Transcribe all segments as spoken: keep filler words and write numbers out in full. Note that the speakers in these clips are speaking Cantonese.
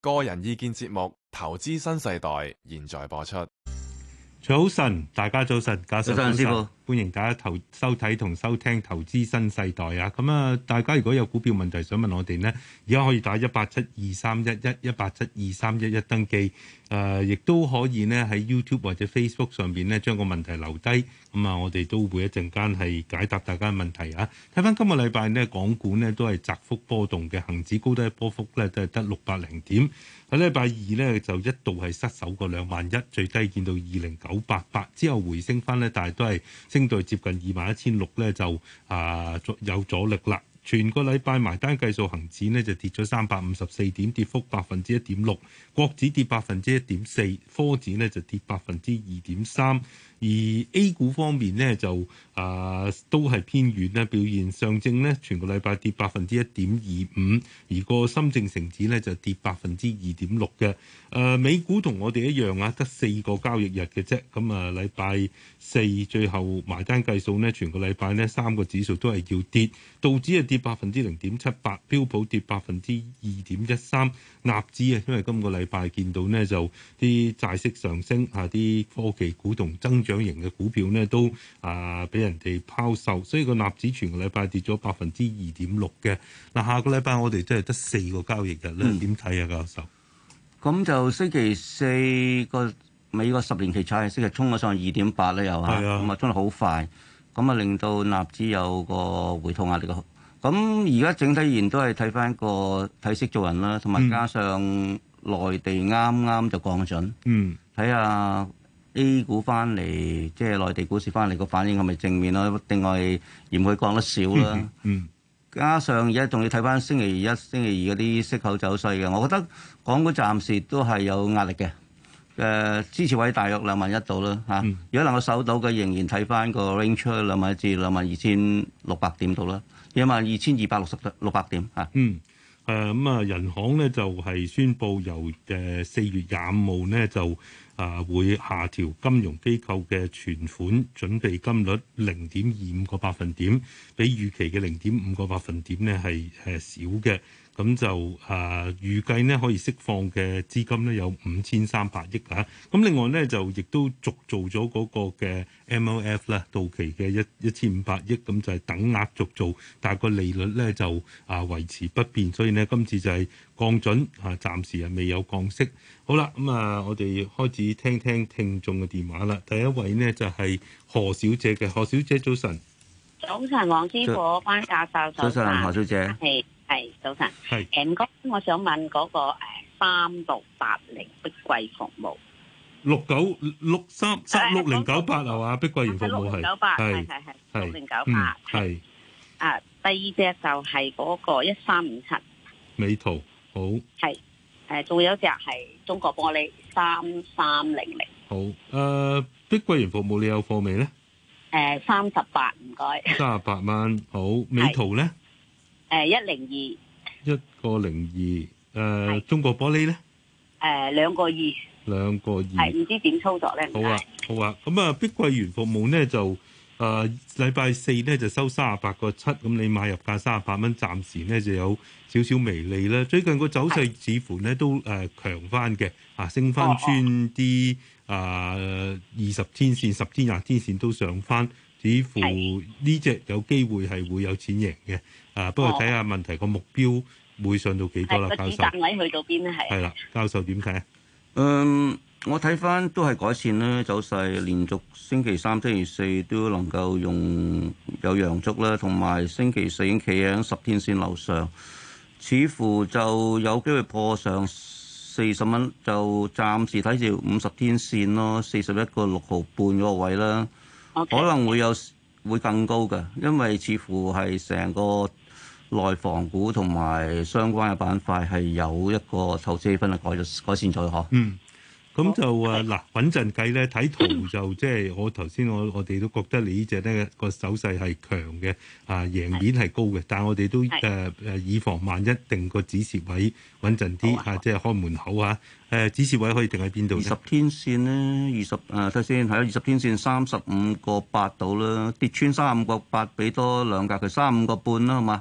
個人意見節目《投資新世代》現在播出。 早晨，大家早晨，教授早晨，師傅， 歡迎大家投收睇同收聽《投資新世代》啊！咁啊，大家如果有股票問題想問我哋呢，而家可以打一八七二三一一一八七二三一一登記，誒、呃，亦都可以呢喺 YouTube 或者 Facebook 上邊呢將個問題留低，咁啊，我哋都會一陣間係解答大家嘅問題啊！睇翻今個禮拜呢，港股呢都係窄幅波動嘅，恒指高低波幅呢都係得六百零點。喺禮拜二呢，就一度係失守過兩萬一，最低見到二零九八八，之後回升翻呢，但係都係升到接近二萬一千六呢，就啊有阻力啦。全個禮拜埋單計數，恒指呢就跌咗三百五十四點，跌幅百分之一點六；國指跌百分之一點四，科指呢就跌百分之二點三。而 A 股方面呢，就啊、呃、都係偏軟咧，表現上證呢全個禮拜跌百分之一點二五，而個深證成指呢就跌百分之二點六嘅。誒、呃、美股同我哋一樣啊，得四個交易日嘅啫。咁啊禮拜四最後埋單計數呢，全個禮拜呢三個指數都係要跌，道指係跌百分之零點七八，標普跌百分之二點一三，納指啊，因為今個禮拜見到呢就啲債息上升啊，啲科技股同增長型嘅股票呢都啊俾人哋拋售，所以個納指全個禮拜跌咗百分之二點六嘅。嗱，下個禮拜我哋真係得四個交易日咧，點睇啊，教授？ 咁就星期四個美國十年期債息係衝咗上二點八咧，又嚇，咁啊衝得好快，咁啊令到納指有個回吐壓力嘅。咁而家整體而言都係睇翻個睇息做人啦，同埋加上內地啱啱就降準， 嗯， 睇下 A 股翻嚟，即係內地股市翻嚟個反應係咪正面咯？另外嫌佢降得少啦， 嗯，嗯， 加上而家仲要睇翻星期一、星期二嗰啲息口走勢嘅，我覺得港股暫時都係有壓力嘅。誒、呃、支持位大約兩萬一度啦嚇，嗯、如果能夠守到嘅，仍然睇翻個 range 兩萬一至兩萬二千六百點度啦，兩萬二千二百六十六百點嚇。 嗯。誒咁啊，人行呢就係、是、宣布由誒四月廿五號呢就啊會下調金融機構嘅存款準備金率零點二五個百分點，比預期嘅零點五個百分點呢係誒少嘅。咁就啊預計呢可以釋放嘅資金呢有五千三百億啊。咁另外呢，就亦都續做咗嗰個嘅 M L F 啦，到期嘅一一千五百億，咁就係等額續做，但係個利率呢就啊維持不變，所以呢，今次就係降準啊，暫時係未有降息。好啦，咁啊我哋開始聽聽聽眾嘅電話啦。第一位呢就係何小姐嘅，何小姐早晨。 早晨，黃師傅，關教授早晨，何小姐。 係係早晨。 係誒唔該，我想問嗰個誒三六八零碧桂服務六九六三三六零九八係嘛？碧桂園服務係九八係係係六零九八係。 啊，第二隻就係嗰個一三五七美圖好。 係誒，仲有一隻係中國玻璃三三零零。 好誒，碧桂園服務你有貨未咧？ 誒三十八，唔該。 三十八蚊，好。美圖咧？ 誒一零二。 一個零二，誒中國玻璃咧？ 誒兩個二。 兩個二。 係唔知點操作咧？ 好啊，好啊。咁啊，碧桂園服務咧就誒禮拜四咧就收三十八個七，咁你買入價三十八蚊，暫時咧就有少少微利啦。最近個走勢似乎咧都誒強翻嘅，啊升翻穿啲。啊，二十天線、十天、廿天線都上翻，似乎呢隻有機會係會有錢贏嘅。啊，不過睇下問題個目標會上到幾多啦，教授。個止賺位去到邊咧？係。係啦，教授點睇啊？ 嗯，我睇翻都係改善啦，走勢連續星期三、星期四都能夠用有陽燭啦，同埋星期四已經企喺十天線樓上，似乎就有機會破上四十蚊，就暫時睇住五十天線咯，四十一個六毫半嗰個位啦，okay. 可能會有會更高嘅，因為似乎係成個內房股同埋相關嘅板塊係有一個投資氣氛係改咗改善咗嗬。嗯。 咁就誒嗱穩陣計咧，睇圖就即係我頭先我我哋都覺得你呢隻咧個手勢係強嘅，啊贏面係高嘅，但係我哋都誒誒、呃、以防萬一定個止蝕位穩陣啲嚇，即係開門口嚇誒止蝕位可以定喺邊度？ 二十天線咧，二十誒睇先，係啊，二十天線三十五個八度啦，跌穿三十五個八，俾多兩格佢三十五個半啦，好嘛？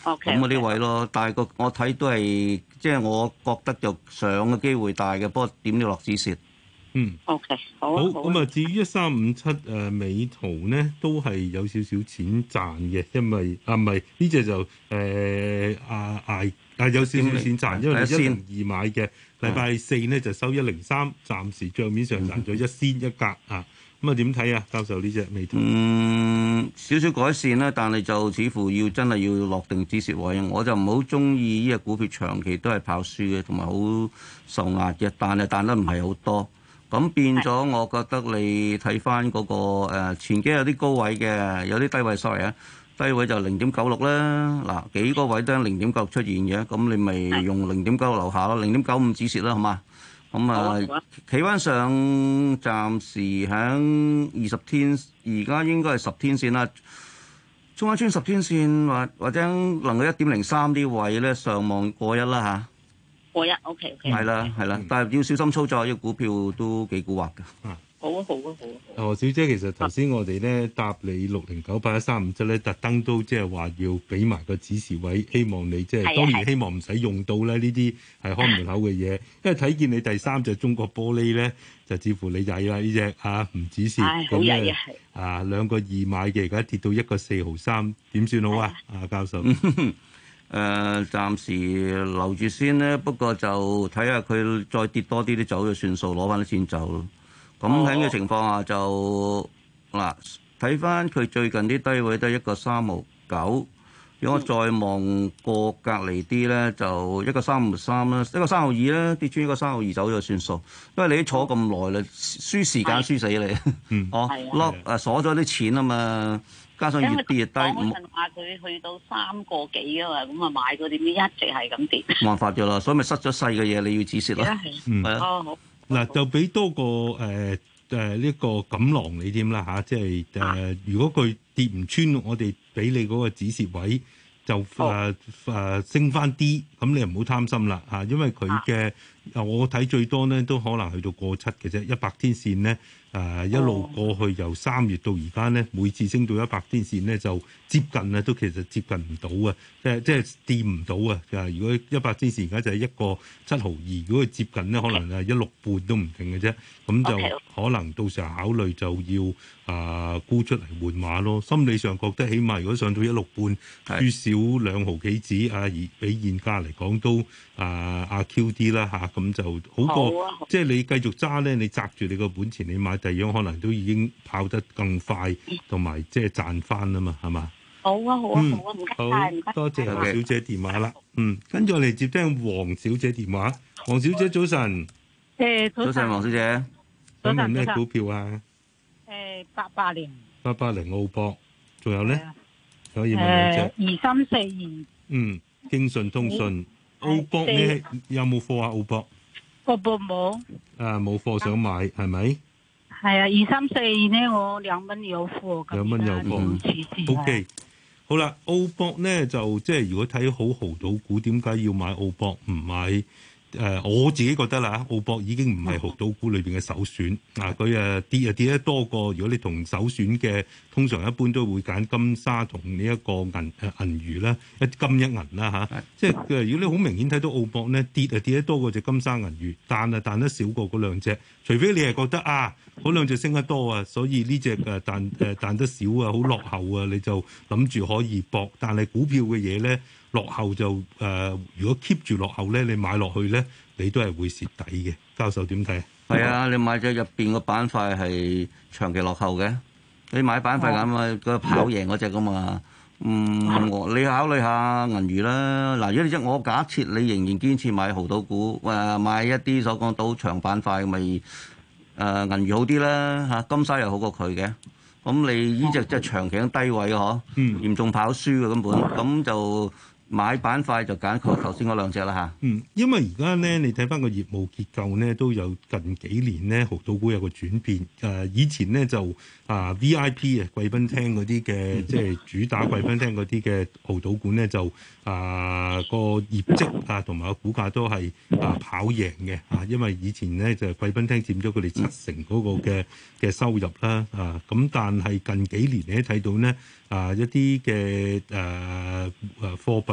OK， 咁嗰啲位咯。但係個我睇都係即係我覺得就上嘅機會大嘅，不過點都落止蝕。 嗯 OK，好好啊咁啊。至於一三五七誒美圖咧，都係有少少錢賺嘅，因為啊唔係呢只就誒啊捱啊有少少錢賺，因為你一零二買嘅，禮拜四呢就收一零三，暫時帳面上賺咗一仙一格啊。咁啊點睇啊，教授呢只美圖？ 嗯，少少改善啦，但係就似乎要真係要落定止蝕位。我就唔好中意呢隻股票長期都係跑輸嘅，同埋好受壓嘅，但係彈得唔係好多。咁變咗，我覺得你睇翻嗰個、呃、前幾有啲高位嘅，有啲低位 sorry 啊，低位就零點九六啦。嗱，幾個位都係零點九六出現嘅，咁你咪用零點九六樓下咯，零點九五止蝕啦，好嘛？咁啊，企翻上暫時喺二十天，而家應該係十天線啦。中間穿十天線或或者能夠一點零三啲位咧，上望過一啦嚇。過一 OK OK。係啦係啦，但係要小心操作，呢個股票都幾蠱惑㗎。 啊好啊好啊好啊！ 何小姐，其實頭先我哋咧答你六零九八一三五七咧，特登都即係話要俾埋個指示位，希望你即係當然希望唔使用到咧呢啲係看門口嘅嘢，因為睇見你第三隻中國玻璃咧，就似乎你曳啦呢隻嚇唔指示咁咧啊兩個二買嘅，而家跌到一個四毫三，點算好啊？啊教授， 誒、呃、暫時留住先咧，不過就睇下佢再跌多啲啲走就算數，攞翻啲錢走咯。咁喺嘅情況下就嗱，睇翻佢最近啲低位都係一個三毫九，如果我再望過隔離啲咧，就一個三毫三啦，一個三毫二啦，跌穿一個三毫二走就算數，因為你都坐咁耐啦，輸時間輸死你， 嗯， 哦 lock 誒鎖咗啲錢啊嘛，加上越跌越低， 我嗰陣話佢去到三個幾啊嘛，咁啊買嗰啲一直係咁跌， 冇辦法咗啦，所以咪失咗勢嘅嘢你要止蝕啦， 嗯， 係啊， 哦好。 嗱，就俾多個誒誒呢個錦囊你添啦嚇，即係誒、呃、如果佢跌唔穿，我哋俾你嗰個止蝕位就誒誒、呃呃、升翻啲，咁你又唔好貪心啦嚇，因為佢嘅我睇最多咧都可能去到過七嘅啫，一百天線咧誒、呃、一路過去由三月到而家咧，每次升到一百天線咧就接近啊，都其實接近唔到啊，即係即係掂唔到啊！誒，如果一百天線而家就係一個七毫二，如果佢接近咧，可能係一六半都唔定嘅啫。咁就可能到時候考慮就要啊沽出嚟換馬咯。心理上覺得起碼如果上到一六半，輸少兩毫幾子啊，而比現價嚟講都啊阿 Q 啲啦嚇，咁就好過、啊、即係你繼續揸咧，你擲住你個本錢，你買第二樣可能都已經跑得更快，同埋即係賺翻啊嘛，係嘛？ 好啊好啊好啊，唔該晒，唔該， 多謝何小姐電話啦。嗯，跟住我哋接聽黃小姐電話。黃小姐早晨。 誒早晨，黃小姐。 想問咩股票啊？ 誒八八零。 八八零澳博，仲有咧？可以問兩隻。 二三四二。 嗯，京信通訊。澳博你有冇貨啊？澳博。 澳博冇。 啊，冇貨想買係咪？ 係啊，二三四二呢，我兩蚊有貨。 兩蚊有貨。O K。好啦，澳博咧就即係如果睇好濠賭股，點解要買澳博唔買？誒、呃，我自己覺得啦，澳博已經唔係濠賭股裏邊嘅首選。啊，佢誒跌啊跌得多過，如果你同首選嘅，通常一般都會揀金沙同呢一個銀誒銀娛啦，一金一銀啦嚇。啊、即係誒，如果你好明顯睇到澳博咧跌啊跌得多過隻金沙銀娛，彈啊彈得少過嗰兩隻，除非你係覺得啊。嗰兩隻升得多啊，所以呢隻誒彈誒彈得少啊，好落後啊，你就諗住可以搏。但係股票嘅嘢咧，落後就誒、呃，如果 keep 住落後咧，你買落去咧，你都係會蝕底嘅。教授點睇啊？ 係啊，你買咗入邊個板塊係長期落後嘅，你買板塊咁啊，個跑贏嗰隻噶嘛。嗯，我你考慮下銀娛啦。嗱，如果你即我假設你仍然堅持買濠賭股，誒、呃、買一啲所講賭場板塊咪？誒、呃、銀娛好啲啦嚇，金沙又好過佢嘅，咁你呢隻即係長期低位嘅嗬， 嗯、 嚴重跑輸嘅根本，咁就買板塊就揀佢頭先嗰兩隻啦嚇。 嗯，因為而家咧，你睇翻個業務結構咧，都有近幾年咧，濠賭股有個轉變。誒、呃，以前咧就啊 V I P 啊貴賓廳嗰啲嘅，即係主打貴賓廳嗰啲嘅濠賭股咧，就啊個業績啊同埋個股價都係啊跑贏嘅啊，因為以前咧就貴賓廳佔咗佢哋七成嗰個嘅嘅收入啦啊，咁但係近幾年你都睇到咧啊一啲嘅誒誒貨幣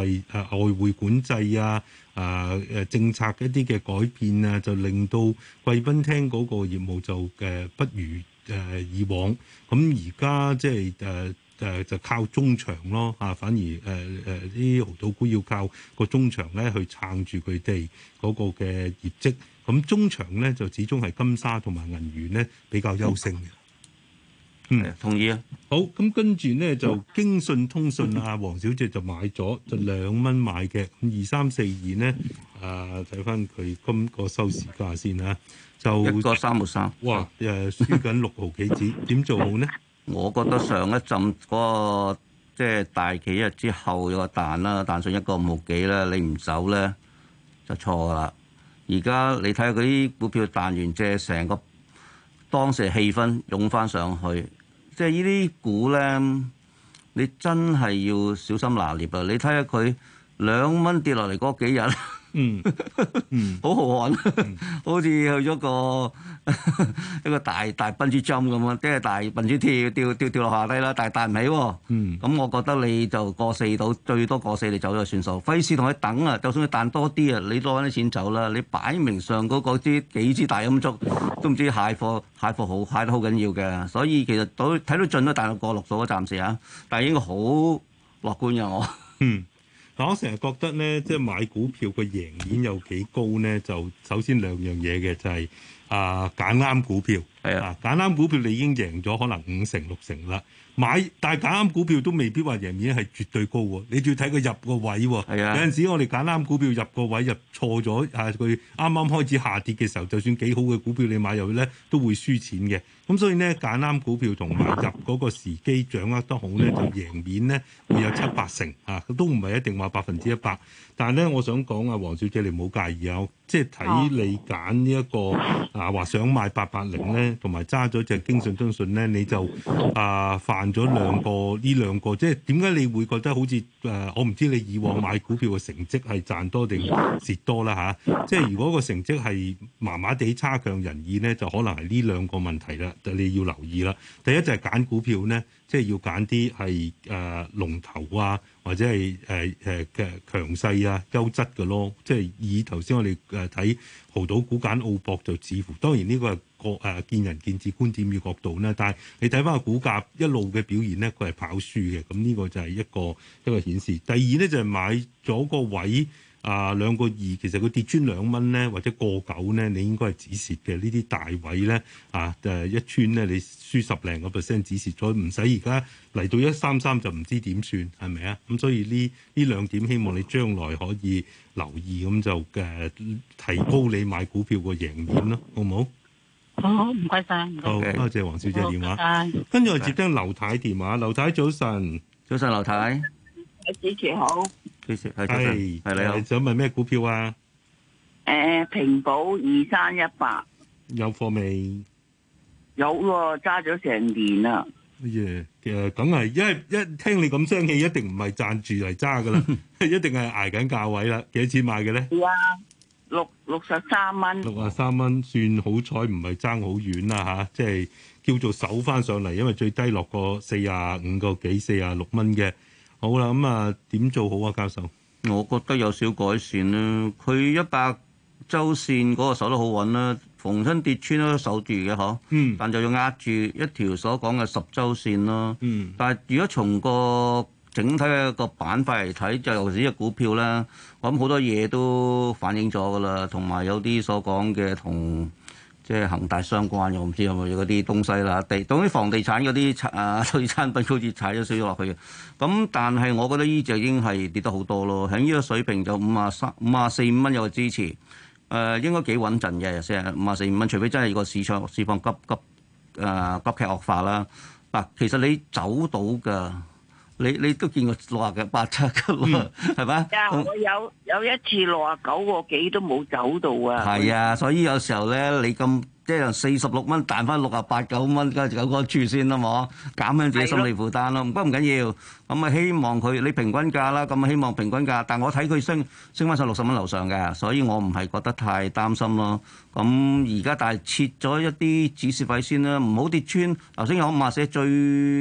為誒、呃、外匯管制啊、啊、呃、誒政策一啲嘅改變啊，就令到貴賓廳嗰個業務就誒、呃、不如誒、呃、以往。咁而家即係誒誒就靠中場咯啊，反而誒誒啲豪賭股要靠個中場咧去撐住佢哋嗰個嘅業績。咁中場咧就始終係金沙同埋銀娛咧比較優勝嘅。 嗯，同意啊。 好，咁跟住咧就京信通訊啊，黃小姐就買咗就兩蚊買嘅，咁二三四二咧啊，睇翻佢今個收市價先啊，就一個三毫三。 哇誒，輸緊六毫幾子，點做好呢？ 我覺得上一陣嗰、那個即係、就是、大企一日之後有個彈啦，彈上一個五毫幾啦，你唔走咧就錯噶啦。而家你睇下嗰啲股票彈完，即係成個當時氣氛湧翻上去，即係呢啲股咧，你真係要小心拿捏啊！你睇下佢兩蚊跌落嚟嗰幾日， 嗯嗯， 好豪悍，好似去咗個一個大大笨豬跳咁啊！即係大笨豬跳跳跳跳落下低啦，但係彈唔起喎。嗯，咁我覺得你就過四到最多過四，你走咗算數，費事同佢等啊！就算佢彈多啲啊，你攞啲錢走啦。你擺明上嗰個支幾支大陰燭都唔知蟹貨蟹貨好蟹得好緊要嘅，所以其實到睇到盡都彈到過六數啊，暫時啊，但係應該好樂觀嘅我。 嗯。嗱，我成日覺得咧，即係買股票個贏面有幾高咧？就首先兩樣嘢嘅，就係啊揀啱股票，係啊揀啱股票你已經贏咗可能五成六成啦。買但係揀啱股票都未必話贏面係絕對高喎，你仲要睇佢入個位喎。係啊，有陣時我哋揀啱股票入個位入錯咗，啊佢啱啱開始下跌嘅時候，就算幾好嘅股票你買入去咧，都會輸錢嘅。咁所以咧揀啱股票同埋入嗰個時機掌握得好咧，就贏面咧會有七八成啊，都唔係一定話百分之一百。但係咧，我想講啊，黃小姐你唔好介意啊，即係睇你揀呢一個啊話想買八八零咧，同埋揸咗隻京信通訊咧，你就啊犯咗兩個呢兩個，即係點解你會覺得好似誒、呃？我唔知你以往買股票嘅成績係賺多定蝕多啦嚇、啊。即係如果個成績係麻麻地差強人意咧，就可能係呢兩個問題啦，就你要留意啦。第一就係揀股票咧，即係要揀啲係誒龍頭啊，或者係誒誒嘅強勢啊、優質嘅咯。即係以頭先我哋誒睇豪賭股揀澳博就似乎，當然呢個係個誒見仁見智觀點嘅角度啦。但係你睇翻個股價一路嘅表現咧，佢係跑輸嘅。咁呢個就係一個一個顯示。第二咧就係買咗個位。啊，兩個二，其實佢跌穿兩蚊咧，或者過九咧，你應該係止蝕嘅。呢啲大位咧，啊誒一穿咧，你輸十零個 percent 止蝕咗，唔使而家嚟到一三三就唔知點算，係咪啊？咁所以呢呢兩點希望你將來可以留意，咁就誒、啊、提高你買股票個贏面咯，好唔好？ 好，唔該晒。 好，多謝黃小姐電話。跟住我接聽劉太電話，劉太早晨， 早晨劉太。 主持好， 主持係係係你好， 想問咩股票啊？ 誒、呃，平保二三一八有貨未？ 有喎，揸咗成年啦。 耶，誒，梗係，因為一聽你咁聲氣，一定唔係賺住嚟揸噶啦，一定係捱緊價位啦。幾多錢買嘅咧？ 係啊，六六十三蚊。 六啊三蚊，算好彩，唔係爭好遠啦吓，即係叫做守翻上嚟，因為最低落過四啊五個幾、四啊六蚊嘅。好啦，咁啊點做好啊，教授？ 我覺得有少改善啦。佢一百週線嗰個守得好穩啦，逢親跌穿都守住嘅嗬。嗯。但就要壓住一條所講嘅十週線咯。嗯。但係如果從個整體嘅個板塊嚟睇，就尤其是隻股票咧，我諗好多嘢都反映咗㗎啦，同埋有啲所講嘅同。即係恒大相關嘅，我唔知有冇嗰啲東西啦。地，總之房地產嗰啲啊，對產品好似踩咗少咗落去嘅。咁但係我覺得呢隻已經係跌得好多咯。喺呢個水平就五啊三、五啊四五蚊有個支持，誒、呃、應該幾穩陣嘅，成五啊四五蚊。除非真係個市場市況急急誒、呃、急劇惡化啦。嗱，其實你走到㗎。你你都見過六啊嘅八七㗎啦，係咪？ 啊，我有有一次六啊九個幾都冇走到啊！ 係啊，所以有時候咧，你咁即係四十六蚊彈翻六啊八九蚊，梗係有個處先啦，冇減輕自己心理負擔咯。不過唔緊要，咁啊希望佢你平均價啦，咁啊希望平均價。但我睇佢升升翻上六十蚊樓上嘅，所以我唔係覺得太擔心咯。咁而家但係切咗一啲止蝕位先啦，唔好跌穿。頭先有五啊四最。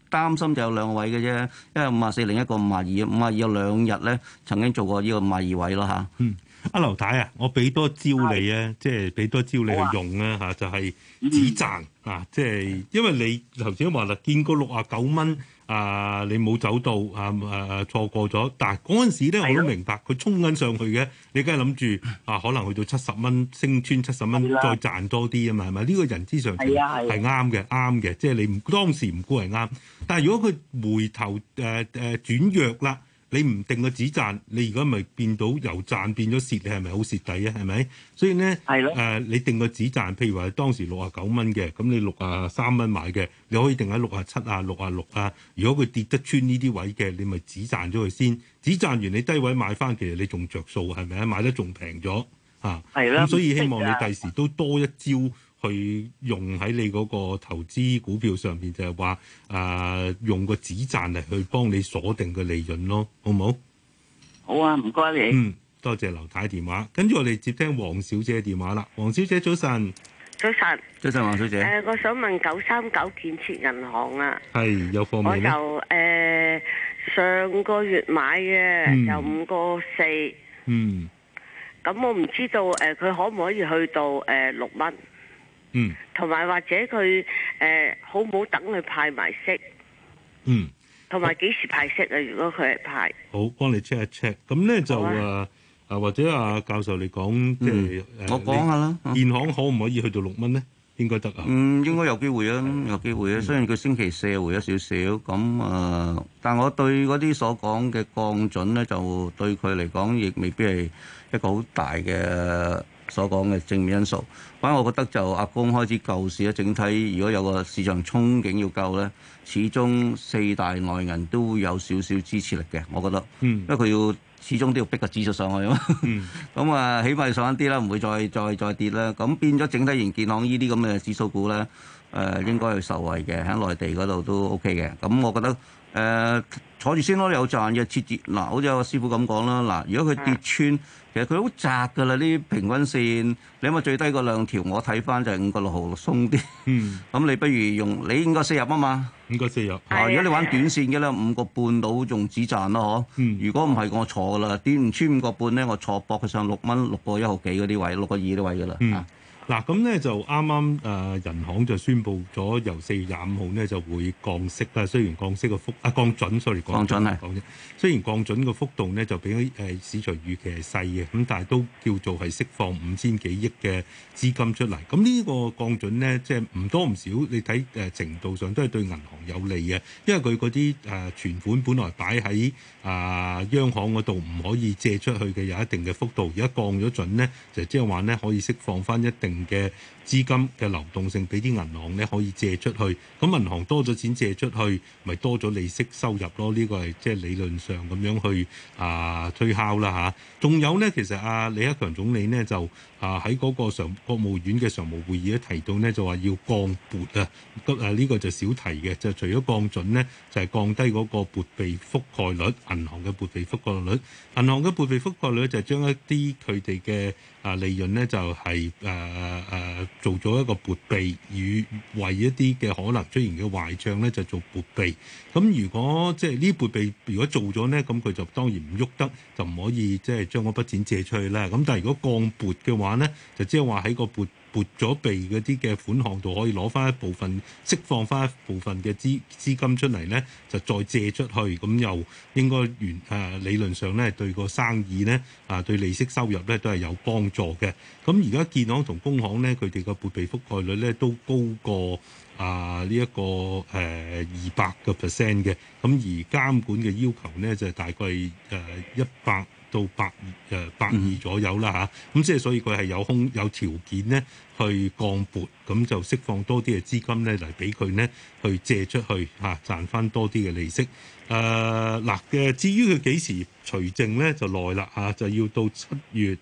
擔心就有兩個位嘅啫，一個五啊四，另一個五啊二，五啊二有兩日咧曾經做過呢個五啊二位咯嚇。 嗯，阿劉太啊，我俾多招你啊，即係俾多招你去用啊嚇，就係止賺啊，即係因為你頭先話啦，見過六啊九蚊。啊！你冇走到啊！誒、啊、錯過咗，但係嗰陣時咧，我都明白佢衝緊上去嘅，你梗係諗住啊，可能去到七十蚊，升穿七十蚊，再賺多啲啊嘛，係咪？呢、這個人之常情係啱嘅，啱嘅，即係你唔當時唔估係啱。但係如果佢回頭誒誒、呃、轉弱啦，你唔定個止賺，你而家咪變到由賺變咗蝕，你係咪好蝕底啊？係咪？所以咧誒、呃，你定個止賺，譬如話當時六啊九蚊嘅，咁你六啊三蚊買嘅，你可以定喺六啊七啊、六啊六啊。如果佢跌得穿呢啲位嘅，你咪止賺咗佢先。止賺完你低位買翻，其實你仲着數係咪啊？買得仲平咗啊！係啦。咁所以希望你第時都多一招。去用喺你嗰個投資股票上邊，就係話誒用個止賺嚟去幫你鎖定個利潤咯，好唔好？ 好啊，唔該你。 嗯，多謝劉太電話，跟住我哋接聽黃小姐電話啦。黃小姐早晨， 早晨， 早晨黃小姐。 誒、呃，我想問九三九建設銀行啊， 係有貨未咧？ 我就誒、呃、上個月買嘅，就五個四。嗯。咁我唔知道誒，佢、呃、可唔可以去到誒六蚊？嗯，同埋或者佢誒、呃、好唔好等佢派埋息？嗯，同埋幾時派息啊？如果佢係派， 好幫你 check 一 check。咁咧就誒啊，啊或者阿教授你講，即係誒， 我講下啦。 建行可唔可以去到六蚊咧？應該得啊。 嗯，應該有機會啊，有機會啊。雖然佢星期四回咗少少，咁啊、呃，但我對嗰啲所講嘅降準咧，就對佢嚟講亦未必係一個好大嘅。所講嘅正面因素，反正我覺得就阿公開始救市咧，整體如果有個市場憧憬要救咧，始終四大內銀都會有少少支持力嘅，我覺得，嗯、因為佢要始終都要逼個指數上去啊嘛，咁啊、嗯、起碼上翻啲啦，唔會再再再跌啦，咁變咗整體型建行呢啲咁嘅指數股咧，誒、呃、應該係受惠嘅，喺內地嗰度都 OK 嘅，咁我覺得誒、呃、坐住先咯，有賺嘅設置嗱，好似有個師傅咁講啦，嗱，如果佢跌穿。其實佢好窄㗎啦，呢平均線，你諗下最低嗰兩條，我睇翻就係五個六毫鬆啲。嗯，咁你不如用，你應該四入啊嘛， 應該四入。 啊，如果你玩短線嘅咧，五個半到仲止賺咯，嗬。嗯。如果唔係，我坐㗎啦，跌唔穿五個半咧，我坐搏佢上六蚊，六個一毫幾嗰啲位，六個二啲位㗎啦。嗯。 嗱咁咧就啱啱誒人行就宣布咗由四月廿五號咧就會降息啦。雖然降息個幅啊降準，sorry 降準係講啫。雖然降準個幅度咧就比誒市場預期係細嘅，咁但係都叫做係釋放五千幾億嘅資金出嚟。咁呢個降準咧即係唔多唔少，你睇誒程度上都係對銀行有利嘅，因為佢嗰啲誒存款本來擺喺啊央行嗰度唔可以借出去嘅有一定嘅幅度，而家降咗準咧就即係話咧可以釋放翻一定嘅資金嘅流動性俾啲銀行咧可以借出去，咁銀行多咗錢借出去，咪多咗利息收入咯？呢、這個係即係理論上咁樣去啊推敲啦嚇。仲、啊、有咧，其實阿李克強總理呢，就啊喺嗰個常國務院嘅常務會議咧提到呢，就話要降撥啊，咁啊呢個就少提嘅，就除咗降準呢，就係、是、降低嗰個撥備覆蓋率，銀行嘅撥備覆蓋率，銀行嘅撥備覆蓋率就係將一啲佢哋嘅啊利潤呢，就係誒誒做咗一個撥備，與為一啲嘅可能出現嘅壞帳咧就做撥備。咁如果即係呢撥備如果做咗呢，咁佢就當然唔喐得，就唔可以即係將嗰筆錢借出去啦。咁但係如果降撥嘅話呢，就即係話喺個撥撥咗備嗰啲嘅款項度可以攞翻一部分，釋放翻一部分嘅資資金出嚟呢，就再借出去，咁又應該原誒理論上咧對個生意呢，啊對利息收入咧都係有幫助嘅。咁而家建行同工行咧佢哋個撥備覆蓋率咧都高過啊呢一個誒二百個 percent 嘅，咁而監管嘅要求呢，就大概誒一百到百誒百二左右啦嚇，咁即係所以佢係有空有條件咧去降撥，咁就釋放多啲嘅資金咧嚟俾佢咧去借出去嚇、啊，賺翻多啲嘅利息。誒嗱嘅，至於佢幾時除淨咧就耐啦嚇，就要到七月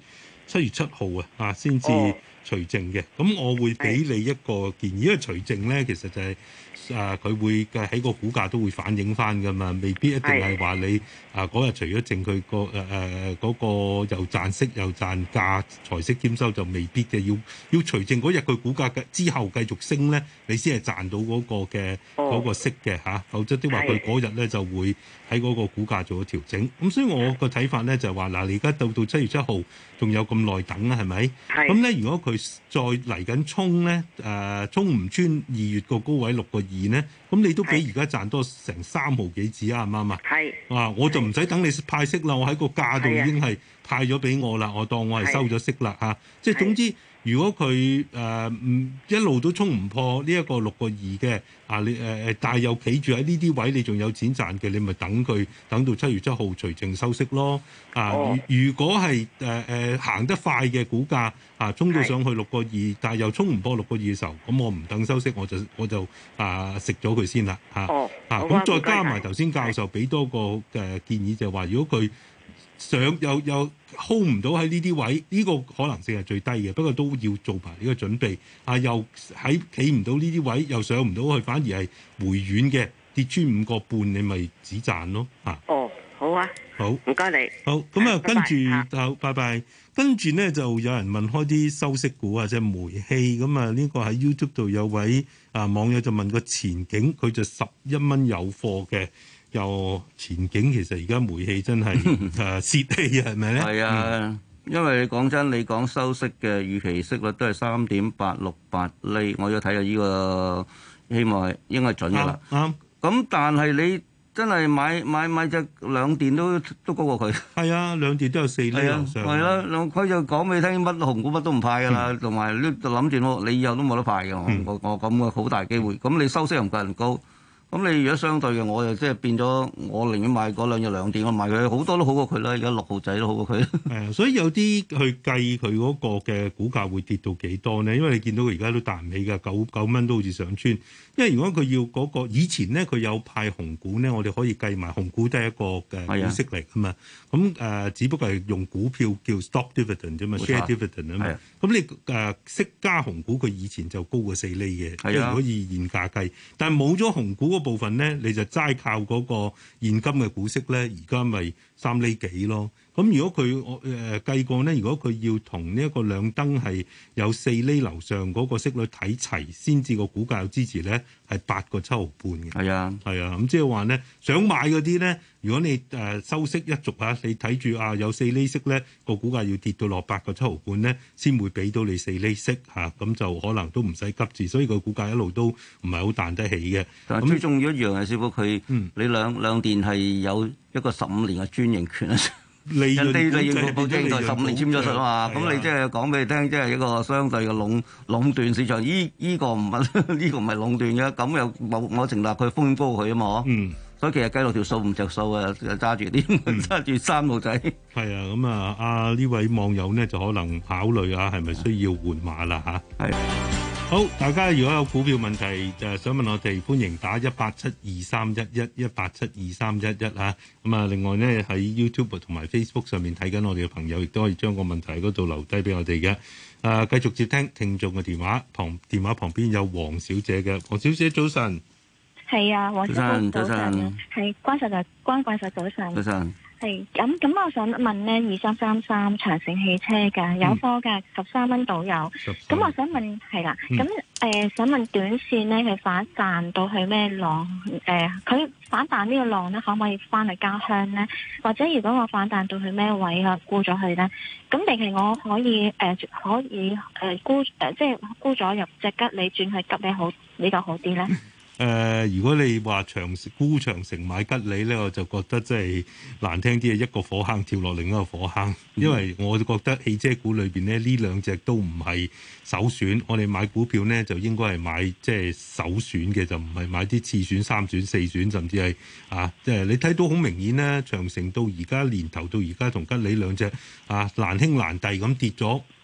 七月七號啊啊先至除淨嘅。咁、哦、我會俾你一個建議，因為除淨咧其實就係、是、啊佢會嘅喺個股價都會反映翻噶嘛，未必一定係話你啊嗰日除咗淨佢個誒誒嗰個又賺息又賺價財息兼收就未必嘅，要要除淨嗰日佢股價嘅之後繼續升咧，你先係賺到嗰個嘅嗰、哦、個息嘅嚇、啊，否則的話佢嗰日咧就會喺嗰個股價做咗調整。咁所以我個睇法咧就係話嗱，你而家到到七月七號仲有咁耐等啊，係咪？咁咧如果佢再嚟緊衝咧，誒、呃、衝唔穿二月個高位六個二咧，咁你都比而家賺多成三毫幾子啊，啱唔啱啊？係啊，我就唔使等你派息啦，我喺個價度已經係派咗俾我啦，我當我係收咗息啦嚇。即係總之，如果佢誒唔一路都衝唔破呢一個六個二嘅啊，你誒誒、呃，但係又企住喺呢啲位，你仲有錢賺嘅，你咪等佢等到七月七號除淨收息咯。啊，哦、如果係誒誒行得快嘅股價啊，衝到上去六個二，但係又衝唔破六個二嘅時候，咁我唔等收息，我就我就啊食咗佢先啦嚇。哦，啊咁再加埋頭先教授俾多個嘅建議，就係話如果佢上又又 hold 唔到喺呢啲位，呢、這個可能性係最低嘅，不過都要做埋呢個準備。啊，又喺企唔到呢啲位，又上唔到去，反而係回軟嘅，跌穿五個半，你咪止賺咯。啊， 哦，好啊， 好，唔該你。 好，咁啊，跟住好，拜拜。跟住咧就有人問開啲收息股啊，即係煤氣咁啊。呢個喺 YouTube 度有位啊網友就問個前景，佢就十一蚊有貨嘅。又前景其實而家煤氣真係誒泄氣啊，係咪咧？ 係啊，嗯、因為你講真，你講收息嘅預期息率都係三點八六八厘，我要睇下呢個希望係應該準㗎啦。啱、啊。咁、啊、但係你真係買買買隻兩電都都高過佢。係啊，兩電都有四厘以上。 係啦，佢就講俾你聽，乜紅股乜都唔派㗎啦，同埋你諗住你以後都冇得派㗎。嗯、我我咁嘅好大機會。咁你收息又唔夠人高。咁你如果相對嘅，我又即係變咗，我寧願買嗰兩隻兩電，我買佢好多都好過佢啦。而家六號仔都好過佢。 係啊，所以有啲去計佢嗰個嘅股價會跌到幾多呢？因為你見到佢而家都彈唔起㗎，九九蚊都好似上穿。因為如果佢要嗰、嗰個以前咧，佢有派紅股咧，我哋可以計埋紅股都係一個嘅股息嚟㗎嘛。咁誒、呃，只不過係用股票叫 stock dividend 啫嘛 ，share dividend 啊嘛。咁你誒息加紅股，佢以前就高過四厘嘅，即係可以現價計。但係冇咗紅股嗰部分咧，你就齋靠嗰個現金嘅股息咧，而家咪三厘幾咯。咁如果佢我誒計過咧，如果佢要同呢一個兩燈係有四厘樓上嗰個息率睇齊，先至個股價有支持咧，係八個七毫半嘅。係啊，係啊，咁即係話咧，想買嗰啲咧，如果你誒、呃、收息一族啊，你睇住啊有四厘息咧，個股價要跌到落八個七毫半咧，先會俾到你四厘息嚇，咁、啊、就可能都唔使急住，所以個股價一路都唔係好彈得起嘅。 但係最重要一樣係師傅佢，嗯、你兩兩電係有一個十五年嘅專營權啊。 利人哋利潤保證就十五年簽咗實啊嘛，咁你即係講俾你聽，即係一個相對嘅壟壟斷市場。依依個唔係呢個唔係壟斷嘅，咁又冇冇成立佢風險高佢啊嘛。嗯，所以其實計落條數唔着數啊，揸住啲揸住三號仔。 係啊，咁啊，啊呢位網友呢就可能考慮啊，係咪需要換馬啦嚇？係。好，大家如果有股票問題就係想問我哋，歡迎打一八七二三一一一八七二三一一嚇。咁啊，另外呢，喺 YouTube 同埋 Facebook 上面睇緊我哋嘅朋友，亦都可以將個問題喺嗰度留低俾我哋嘅。啊，繼續接聽聽眾嘅電話，旁電話旁邊有黃小姐嘅，黃小姐早晨。 係啊，黃小姐早晨。係關實就關關實早晨。 早晨。 係咁咁，我想問呢，二三三三長城汽車嘅有貨嘅十三蚊到有，咁我想問係啦，咁誒、嗯呃、想問短線呢，佢反彈到去咩浪？誒、呃，佢反彈呢個浪呢，可唔可以翻嚟家鄉呢？或者如果我反彈到去咩位啊，沽咗佢呢？咁定係我可以誒、呃、可以誒、呃、沽誒、呃、即係沽咗入隻吉利轉去吉利好比較好啲呢？ 誒、呃，如果你話長沽長城買吉利咧，我就覺得即係難聽啲，係一個火坑跳落另一個火坑。因為我覺得汽車股裏邊咧，呢兩隻都唔係首選。我哋買股票呢，就應該係買即係首選嘅，就唔係買啲次選、三選、四選，甚至係啊，即係你睇到好明顯咧，長城到而家年頭到而家同吉利兩隻啊難兄難弟咁跌咗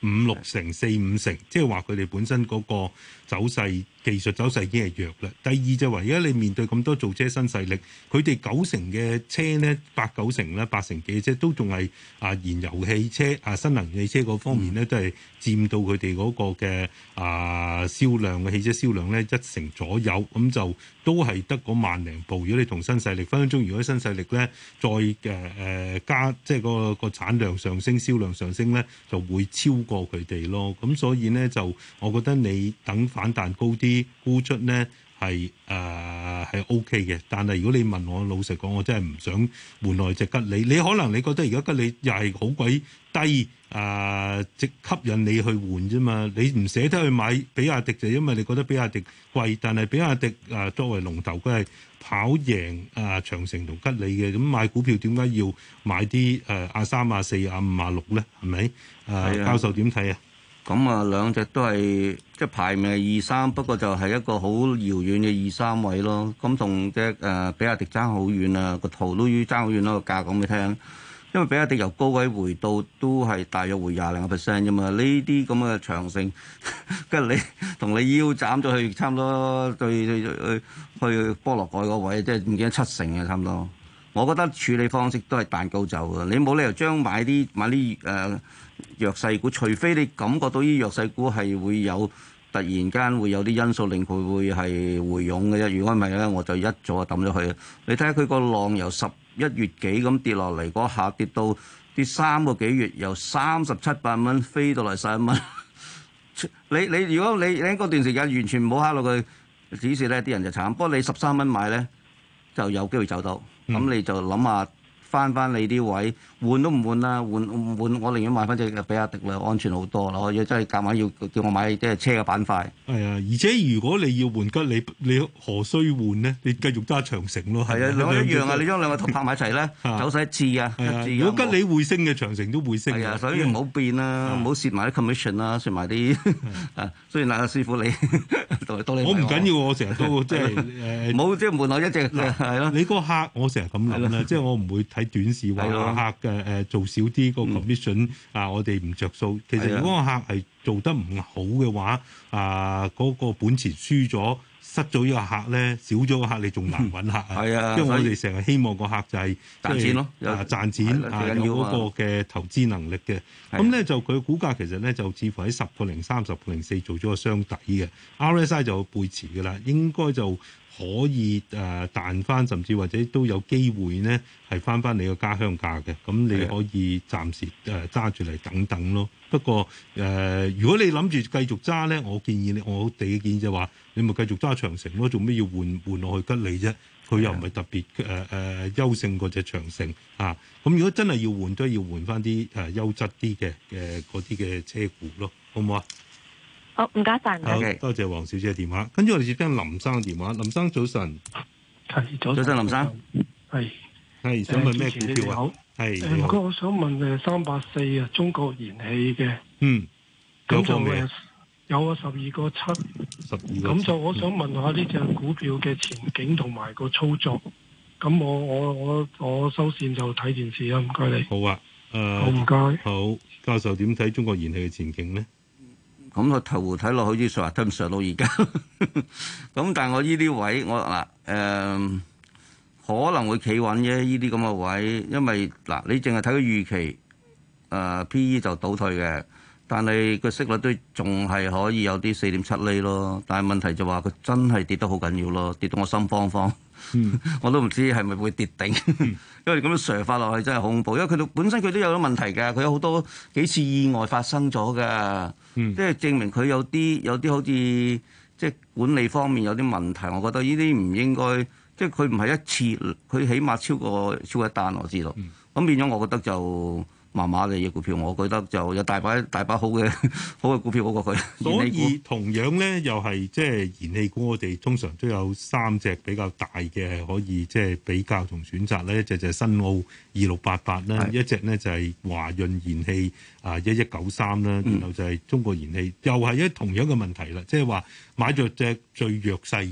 五六成、四五成，即係話佢哋本身嗰個走勢、技術走勢已經係弱啦。第二就話而家你面對咁多造車新勢力，佢哋九成嘅車呢，八九成啦、八成幾嘅車都仲係啊燃油汽車啊新能源汽車嗰方面呢，都係佔到佢哋嗰個嘅啊銷量嘅汽車銷量呢，一成左右，咁就都係得嗰萬零部。如果你同新勢力分分鐘，如果新勢力咧再誒誒、呃、加，即係個個產量上升、銷量上升咧，就會超過佢哋咯。咁所以咧就，我覺得你等反彈高啲沽出咧係誒係 O K 嘅。但係如果你問我，老實講，我真係唔想換來隻吉利。你可能你覺得而家吉利又係好鬼低。啊！即吸引你去換啫嘛，你唔捨得去買比亞迪就因為你覺得比亞迪貴，但係比亞迪啊作為龍頭，佢係跑贏啊長城同吉利嘅，咁買股票點解要買啲誒亞三、亞四、亞五、亞六咧？係咪？啊，教授點睇啊？ 咁啊，兩隻都係即係排名係二三，不過就係一個好遙遠嘅二三位咯。咁同隻誒比亞迪爭好遠啊，個圖都要爭好遠咯，個價講俾你聽。因為比亞迪由高位回到都係大約回廿零個 percent 啫嘛，呢啲咁嘅長城，跟住你同你腰斬咗去差唔多對去去去波羅蓋嗰位，即係唔記得七成嘅差唔多。我覺得處理方式都係彈高走嘅，你冇理由將買啲買啲誒、呃、弱勢股，除非你感覺到啲弱勢股係會有突然間會有啲因素令佢會係回湧嘅啫。如果唔係咧，我就一早就抌咗佢。你睇下佢個浪由十一月幾咁跌落嚟，嗰下跌到跌三個幾月，由三十七八蚊飛到嚟十一蚊。你你如果你喺嗰段時間完全唔好考慮佢指示咧，啲人就慘。不過你十三蚊買咧，就有機會走到。咁、嗯、你就諗下翻翻你啲位，換都唔換啦，換唔換我寧願買翻隻比亞迪啦，安全好多啦。我要真係夾硬要叫我買即係車嘅板塊。 係啊，而且如果你要換吉利，你何須換呢？你繼續揸長城咯。係啊， 兩個一樣啊！你將兩個圖拍埋一齊咧，走勢一致啊！ 如果吉利會升嘅，長城都會升。 係啊，所以唔好變啦，唔好蝕埋啲 commission 啦，蝕埋啲啊。雖然阿師傅你多你， 我唔緊要，我成日都即係誒， 冇即係換我一隻係咯。 你嗰個客我成日咁諗啦，即係我唔會睇短視話客嘅誒做少啲個 commission 啊，我哋唔着數。其實如果個客係做得唔好嘅話，啊嗰個本錢輸咗。失咗呢個客咧，少咗個客你仲難揾客啊！係啊，因為我哋成日希望個客就係賺錢咯， 啊賺錢啊有嗰個嘅投資能力嘅。咁咧就佢股價其實咧就似乎喺十個零三、十個零四做咗個雙底嘅 R S I 就背馳嘅啦，應該就可以誒彈翻，甚至或者都有機會呢係翻翻你個家鄉價嘅。咁你可以暫時誒揸住嚟等等咯。不過誒、呃，如果你諗住繼續揸咧，我建議你，我哋嘅建議就話，你咪繼續揸長城咯，做咩要換換落去吉利啫？佢又唔係特別誒誒優勝過隻長城啊！咁如果真係要換，都要換翻啲誒優質啲嘅嘅嗰啲嘅車股咯，好唔好啊？ 好，唔該晒，唔該。 好，多謝黃小姐嘅電話。跟住我哋接聽林生嘅電話。林生早晨， 係早晨，林生， 係係想問咩股票啊？係唔該，我想問誒三八四啊，中國燃氣嘅， 嗯， 咁就誒有啊十二個七， 十二個， 咁就我想問下呢隻股票嘅前景同埋個操作。咁我我我我收線就睇電視啦，唔該你。 好啊，誒、呃， 好唔該。 好，教授點睇中國燃氣嘅前景咧？ 咁個頭睇落好似上都唔上到而家，咁但係我呢啲位我嗱誒、呃、可能會企穩啫，呢啲咁嘅位，因為嗱你淨係睇個預期誒、呃、P E 就倒退嘅，但係個息率都仲係可以有啲四點七厘咯，但係問題就話佢真係跌得好緊要咯，跌到我心慌慌。嗯、我都唔知係咪會跌頂，因為咁樣瀡法落去真係恐怖。因為佢本身佢都有啲問題㗎，佢有好多幾次意外發生咗㗎，嗯、即係證明佢有啲有啲好似即係管理方面有啲問題。我覺得呢啲唔應該，即係佢唔係一次，佢起碼超過超過一單我知道。咁、嗯、變咗，我覺得就麻麻嘅嘢股票，我覺得就有大把大把好嘅好嘅股票好過佢。 所以同樣咧，又係即係燃氣股，我哋通常都有三隻比較大嘅可以即係比較同選擇咧。一隻就係新奧二六八八啦，一隻咧就係華潤燃氣啊一一九三啦，然後就係中國燃氣，又係一同樣嘅問題啦，即係話買著隻最弱勢嘅。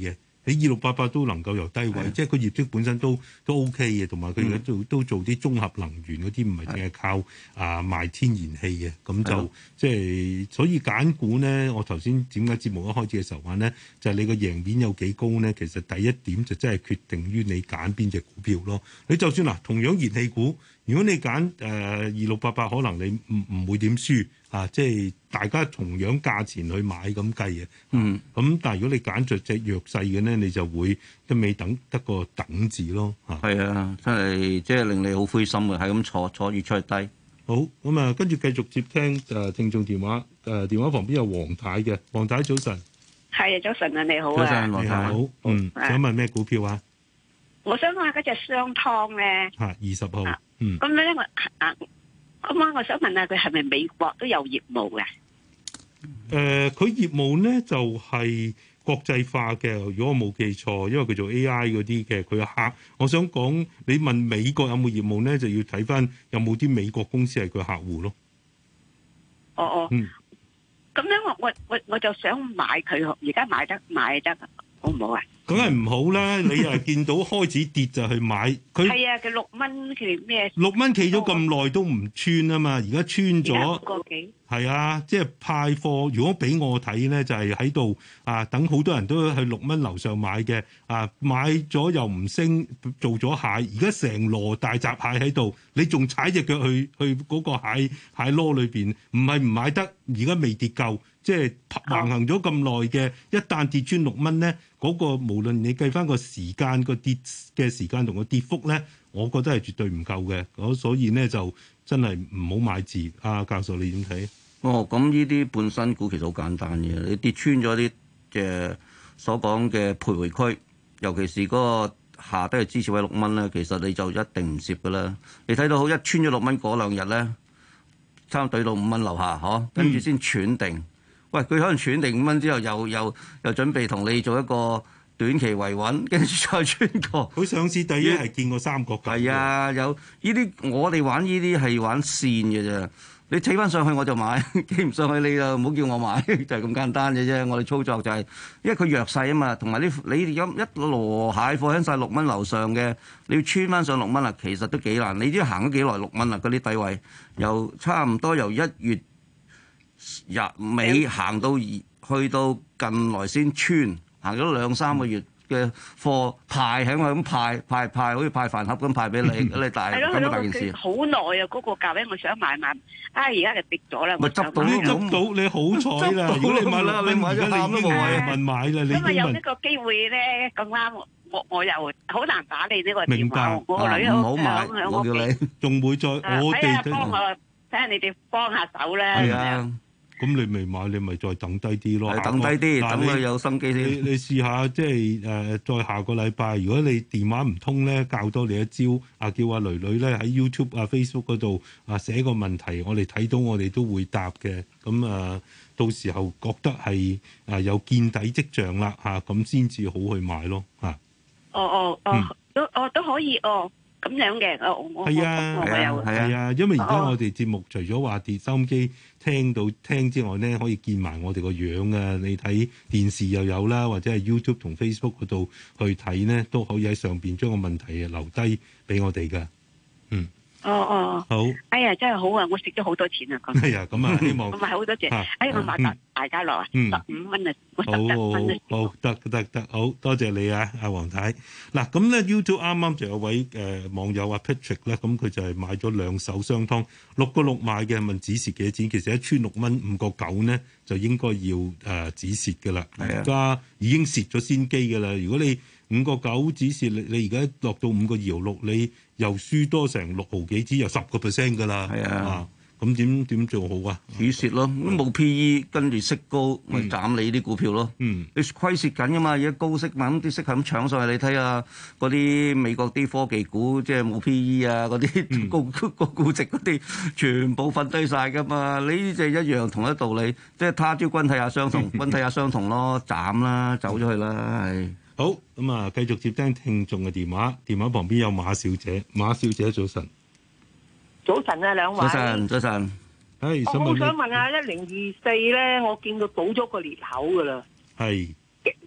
你二六八八都能夠由低位， 的即係佢業績本身都都 OK 嘅，同埋佢而家做都做啲綜合能源嗰啲，唔係淨係靠啊賣天然氣嘅，咁就的即係所以揀股咧，我頭先點解節目一開始嘅時候話咧，就係、是、你個贏面有幾高咧？其實第一點就真係決定於你揀邊隻股票咯。你就算嗱，同樣燃氣股，如果你揀誒二六八八，可能你唔唔會點輸啊！即係大家同樣價錢去買咁計嘅。嗯。咁但係如果你揀着隻弱勢嘅咧，你就會一味等得個等字咯。嚇。係啊， 真係即係令你好灰心嘅，係咁坐坐越出去低。 好，咁啊，跟住繼續接聽誒、呃、聽眾電話。誒、呃、電話旁邊有黃太嘅，黃太早晨。 係啊，早晨啊，你好啊。 早晨，黃太。 好。嗯。 啊、 想問咩股票啊？ 我想問下嗰隻商湯咧。 嚇，二十號。啊、嗯。 咁咧我啊，咁啊，我想問下佢係咪美國都有業務嘅？誒、 呃，佢業務咧就係、是。國際化嘅，如果我冇記錯，因為佢做 A I 嗰啲嘅，佢嘅客，我想講你問美國有冇業務咧，就要睇翻有冇啲美國公司係佢客戶咯。 哦哦，嗯，咁樣我我我我就想買佢，而家買得買得好唔好啊？ 梗係唔好啦！你又見到開始跌就去買，佢係啊，佢六蚊佢咩？ 六蚊企咗咁耐都唔穿啊嘛，而家穿咗。 個幾？係啊，即係派貨。如果俾我睇咧，就係喺度啊，等好多人都去六蚊樓上買嘅啊，買咗又唔升，做咗蟹。而家成籮大閘蟹喺度，你仲踩隻腳去去嗰個蟹蟹籮裏邊，唔係唔買得。而家未跌夠。即係橫行咗咁耐嘅，一旦跌穿六蚊咧，嗰、那個無論你計翻個時間個跌嘅時間同個跌幅咧，我覺得係絕對唔夠嘅。咁所以咧就真係唔好買字。啊，教授你點睇？ 哦，咁呢啲半新股其實好簡單嘅，你跌穿咗啲嘅所講嘅徘徊區，尤其是嗰個下低嘅支持位六蚊咧，其實你就一定唔蝕噶啦。你睇到好一穿咗六蚊嗰兩日咧，差唔多對到五蚊樓下，嗬，跟住先喘定。嗯喂，佢可能喘定五蚊之後，又又又準備同你做一個短期維穩，跟住再穿過。 佢上市第一係見過三角形。 係啊，有呢啲我哋玩呢啲係玩線嘅啫。你企翻上去我就買，企唔上去你就唔好叫我買，就係咁簡單嘅啫。我哋操作就係、是，因為佢弱勢啊嘛，同埋你你有一籮蟹貨喺晒六蚊樓上嘅，你要穿翻上六蚊啦，其實都幾難。你知行咗幾耐六蚊啦？嗰啲低位由差唔多由一月日尾行到去到近來先穿，行咗兩三個月嘅貨派喺我咁派派派，好似派飯盒咁派俾你，你大咁大件事。 好耐啊！嗰、那個價位我想買買，啊而家就跌咗啦。 咪執到你執到你好彩啦！如果你買啦，你買咗喊都冇謂問買啦。你因為有呢個機會咧，咁啱我我又好難打你呢個電話。我個女唔好買，我叫你仲會再我哋睇下幫我睇下你哋幫下手啦。 係啊。 咁你未買，你咪再等低啲咯。 等低啲，等佢有心機先。 你你試下即係誒、呃，再下個禮拜，如果你電話唔通咧，教多你一招。啊，叫阿女女咧喺 YouTube 啊、Facebook 嗰度啊寫個問題，我哋睇到我哋都會答嘅。咁啊，到時候覺得係啊有見底跡象啦嚇，咁先至好去買咯嚇。 哦哦哦，嗯、都哦都可以哦。咁樣嘅，我我係啊，係啊，係啊，因為而家我哋節目除咗話跌收音機聽到聽之外咧，可以見埋我哋個樣啊！你睇電視又有啦，或者係 YouTube 同 Facebook 嗰度去睇咧，都可以喺上邊將個問題留低俾我哋噶。嗯。 哦哦， 好！ 哎呀，真係好啊！我食咗好多錢啊！ 係啊，咁啊，希望我買好多謝，哎呀，我買大大家樂啊，十五蚊啊，我十一蚊啊， 好得得得，好多謝你啊，阿黃太。嗱，咁咧 YouTube 啱啱就有位誒網友阿 Patrick 咧，咁佢就係買咗兩手商湯，六個六買嘅，問止蝕幾多錢？其實一穿六蚊五個九咧，就應該要誒止蝕嘅啦。而家已經蝕咗先機嘅啦。如果你五個九止蝕，你你而家落到五個二毫六，你又輸多成六毫幾，只有十個 percent 噶啦。係啊，咁點點做好啊？ 止蝕咯，咁冇 P E，跟住息高，咪斬你啲股票咯。嗯，你虧蝕緊噶嘛，而家高息嘛，咁啲息係咁搶上去，你睇下嗰啲美國啲科技股，即係冇 P E 啊，嗰啲高高估值嗰啲，全部瞓低晒噶嘛。你呢隻一樣同一道理，即係他朝君體也相同，君體也相同咯，斬啦，走咗去啦，係。 好，咁啊，繼續接聽聽眾嘅電話。電話旁邊有馬小姐，馬小姐早晨。 早晨啊，兩位。 早晨，早晨。 係， 我好想問下一零二四咧，我見到倒咗個裂口噶啦。 係。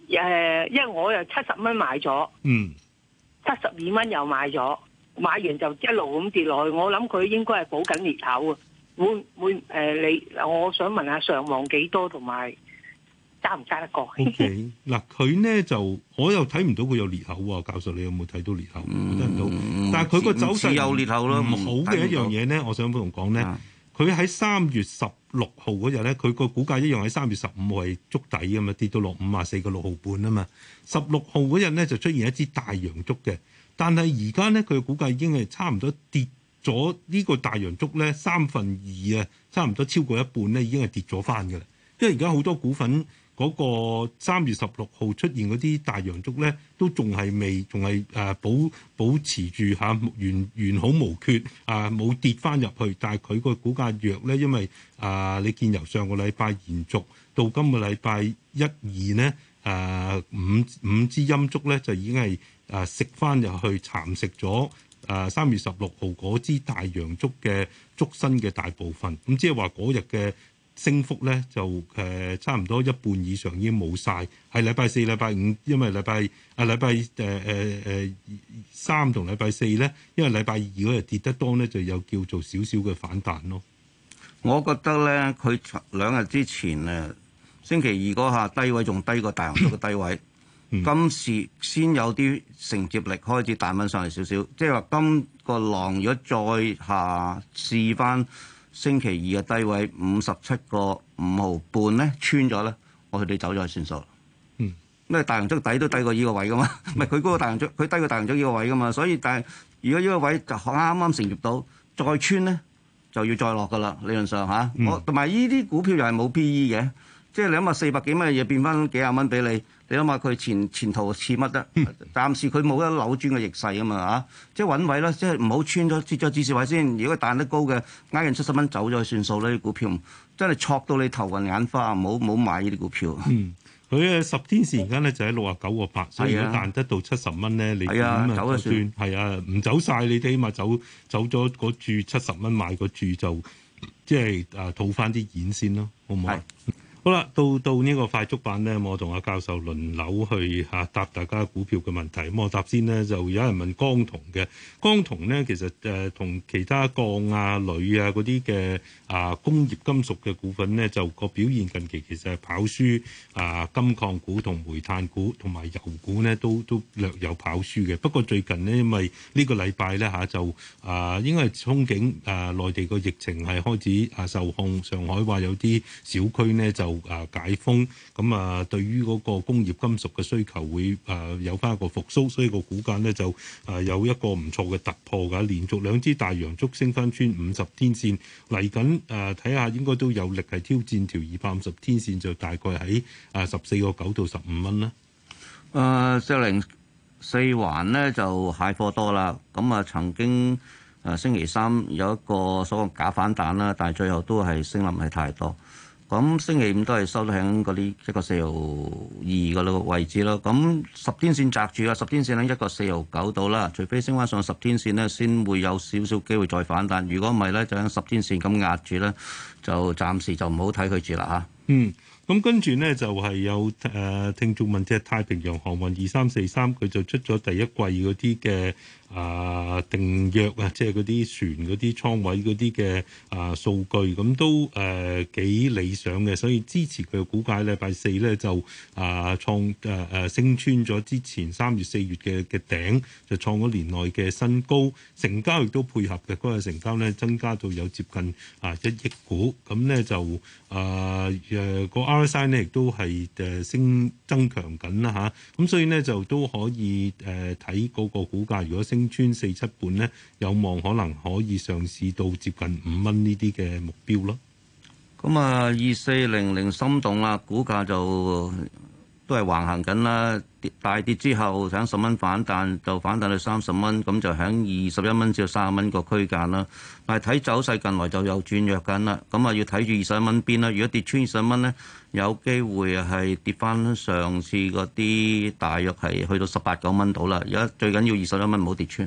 誒，因為我又七十蚊買咗， 嗯， 七十二蚊又買咗，買完就一路咁跌落去。我諗佢應該係補緊裂口啊。會會誒、呃，你我想問下上望幾多，同埋揸唔揸得過 ？O K， 嗱佢呢就我又睇唔到佢有裂口喎，教授你有冇睇到裂口？ 嗯、 睇唔到，但係佢個走勢有裂口咯。 唔好嘅一樣嘢呢，我想同講呢，佢喺三月十六號嗰日呢，佢個股價一樣喺三月十五號係築底啊嘛，跌到落五啊四個六毫半啊嘛。十六號嗰日呢，就出現一支大陽燭嘅，但係而家呢，佢嘅股價已經係差唔多跌咗呢個大陽燭咧三分二啊，差唔多超過一半咧，已經係跌咗翻嘅啦。因為而家好多股份嗰個三月十六號出現嗰啲大陽燭咧，都仲係未，仲係誒保保持住嚇完完好無缺啊，冇跌翻入去。但係佢個股價弱咧，因為啊，你見由上個禮拜延續到今個禮拜一二呢，誒五五支陰燭咧就已經係誒食翻入去蠶食咗。誒三月十六號嗰支大陽燭嘅燭身嘅大部分，咁即係話嗰日嘅升幅咧就誒、呃、差唔多一半以上已經冇晒。係禮拜四、禮拜五，因為禮拜啊禮拜誒誒誒三同禮拜四咧，因為禮拜二嗰日跌得多咧，就有叫做少少嘅反彈咯。 我覺得咧，佢兩日之前誒星期二嗰下低位仲低過大陽燭嘅低位。今次先有啲承接力開始彈翻上嚟少少，即係話今個浪如果再下試翻星期二嘅低位五十七個五毫半咧，穿咗咧，我哋走咗去算數。嗯，因為大陽燭底都低過呢個位噶嘛，唔係佢嗰個大陽燭，佢低過大陽燭呢個位噶嘛，所以但係如果呢個位就啱啱承接到再穿咧，就要再落噶啦，理論上嚇。嗯、我同埋呢啲股票又係冇 P E 嘅，即係你諗下四百幾蚊嘅嘢變翻幾廿蚊俾你。你諗下佢前前途似乜得？暫時佢冇得扭轉嘅逆勢啊嘛嚇，即係穩位啦，即係唔好穿咗跌咗止蝕位先。如果彈得高嘅，挨近七十蚊走咗去算數啦。啲股票真係挫到你頭暈眼花，唔好唔好買呢啲股票。 嗯，佢嘅十天線而家咧就喺六啊九個八，所以如果彈得到七十蚊咧，你點啊就算係啊，唔走晒，你起碼走走咗嗰注七十蚊買嗰注就即係誒套翻啲現先咯，好唔好？好啦，到到呢個快速版呢，我同阿教授輪流去嚇答大家股票嘅問題。咁我答先呢，就有人問鋼銅嘅鋼銅呢，其實誒同、呃、其他鋼啊、鋁啊嗰啲嘅啊工業金屬嘅股份呢，就個表現近期其實係跑輸啊金礦股同煤炭股同埋油股呢，都都略有跑輸嘅。不過最近呢，因為呢個禮拜呢，嚇、啊、就啊應該係憧憬啊內地個疫情係開始啊受控，上海話有啲小區呢就啊解封，咁啊對於嗰個工業金屬嘅需求會啊有翻一個復甦，所以個股價呢就啊有一個唔錯嘅突破㗎，連續兩支大陽燭升翻穿五十天線，嚟緊啊睇下應該都有力係挑戰條二百五十天線，就大概喺啊十四個九到十五蚊啦。 誒四零四環呢就蟹貨多啦，咁啊曾經誒星期三有一個所謂假反彈啦，但係最後都係升得唔係太多。咁星期五都係收到喺嗰啲一個四毫二嗰個位置咯。咁十天線擲住啦，十天線喺一個四毫九度啦。除非升翻上十天線咧，先會有少少機會再反彈。如果唔係咧，就喺十天線咁壓住咧，就暫時就唔好睇佢住啦嚇。 嗯。咁跟住呢，就係、是、有誒、呃、聽眾問隻太平洋航運二三四三，佢就出咗第一季嗰啲嘅啊定約啊，即係嗰啲船嗰啲倉位嗰啲嘅啊數據，咁都誒幾、呃、理想嘅，所以支持佢嘅股價。禮拜四咧就啊創誒誒升穿咗之前三月四月嘅嘅頂，就創咗年內嘅新高，成交亦都配合嘅，嗰、那個成交咧增加到有接近啊一億股，咁咧就啊誒個。R S I 呢亦都係誒升增強緊啦嚇，咁所以呢，就都可以誒睇嗰個股價，如果升穿四七半呢，有望可能可以上市到接近五蚊呢啲嘅目標咯。 咁啊，二四零零心動啊，股價就都係橫行緊啦，跌大跌之後喺十蚊反彈，就反彈到三十蚊，咁就喺二十一蚊至到三十蚊個區間啦。但係睇走勢近來就有轉弱緊啦，咁啊要睇住二十一蚊邊啦。如果跌穿二十蚊咧，有機會係跌翻上次嗰啲大約係去到十八九蚊度啦。而家最緊要二十一蚊唔好跌穿。